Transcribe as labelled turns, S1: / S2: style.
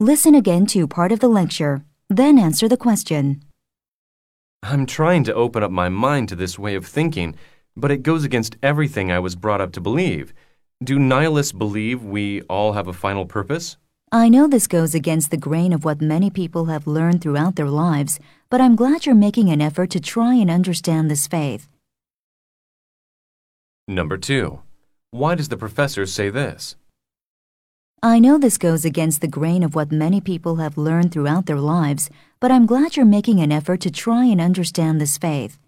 S1: Listen again to part of the lecture, then answer the question.
S2: I'm trying to open up my mind to this way of thinking, but it goes against everything I was brought up to believe. Do nihilists believe we all have a final purpose?
S1: I know this goes against the grain of what many people have learned throughout their lives, but I'm glad you're making an effort to try and understand this faith.
S2: Number 2. Why does the professor say this?
S1: I know this goes against the grain of what many people have learned throughout their lives, but I'm glad you're making an effort to try and understand this faith.